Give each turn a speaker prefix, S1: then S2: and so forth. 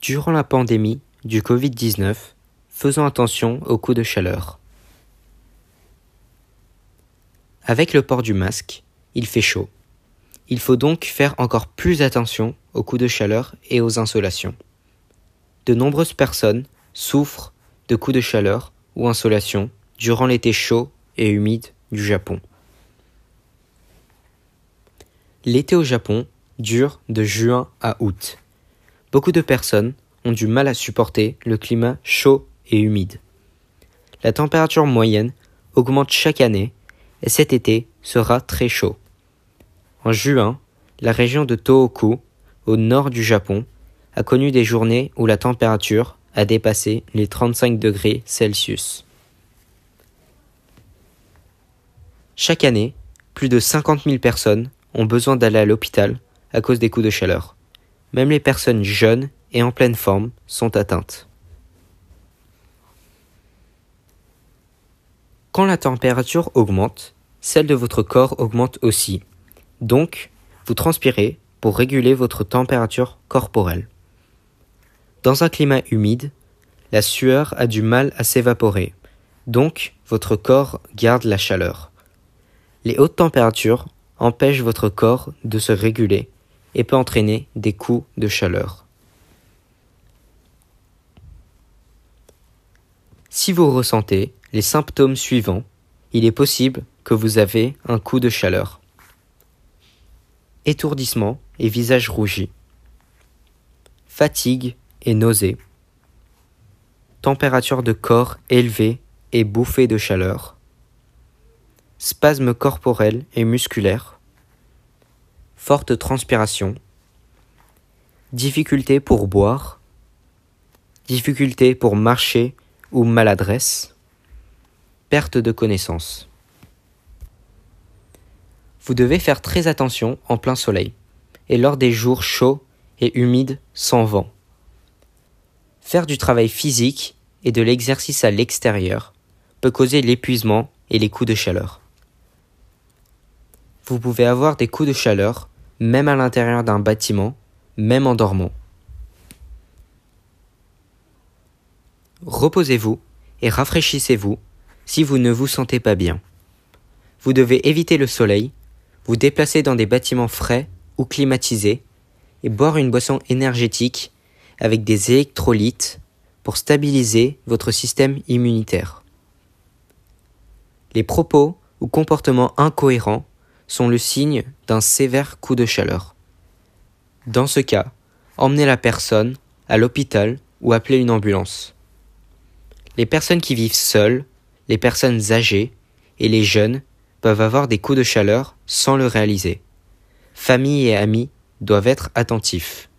S1: Durant la pandémie du Covid-19, faisons attention aux coups de chaleur. Avec le port du masque, il fait chaud. Il faut donc faire encore plus attention aux coups de chaleur et aux insolations. De nombreuses personnes souffrent de coups de chaleur ou insolations durant l'été chaud et humide du Japon. L'été au Japon dure de juin à août. Beaucoup de personnes ont du mal à supporter le climat chaud et humide. La température moyenne augmente chaque année et cet été sera très chaud. En juin, la région de Tohoku, au nord du Japon, a connu des journées où la température a dépassé les 35 degrés Celsius. Chaque année, plus de 50 000 personnes ont besoin d'aller à l'hôpital à cause des coups de chaleur. Même les personnes jeunes et en pleine forme sont atteintes. Quand la température augmente, celle de votre corps augmente aussi. Donc, vous transpirez pour réguler votre température corporelle. Dans un climat humide, la sueur a du mal à s'évaporer, donc votre corps garde la chaleur. Les hautes températures empêchent votre corps de se réguler et peut entraîner des coups de chaleur. Si vous ressentez les symptômes suivants, il est possible que vous avez un coup de chaleur. Étourdissement et visage rougi. Fatigue et nausées. Température de corps élevée et bouffée de chaleur. Spasmes corporels et musculaires. Forte transpiration. Difficulté pour boire. Difficulté pour marcher ou maladresse. Perte de connaissance. Vous devez faire très attention en plein soleil et lors des jours chauds et humides sans vent. Faire du travail physique et de l'exercice à l'extérieur peut causer l'épuisement et les coups de chaleur. Vous pouvez avoir des coups de chaleur même à l'intérieur d'un bâtiment, même en dormant. Reposez-vous et rafraîchissez-vous si vous ne vous sentez pas bien. Vous devez éviter le soleil, vous déplacer dans des bâtiments frais ou climatisés et boire une boisson énergétique avec des électrolytes pour stabiliser votre système immunitaire. Les propos ou comportements incohérents sont le signe d'un sévère coup de chaleur. Dans ce cas, emmenez la personne à l'hôpital ou appelez une ambulance. Les personnes qui vivent seules, les personnes âgées et les jeunes peuvent avoir des coups de chaleur sans le réaliser. Famille et amis doivent être attentifs.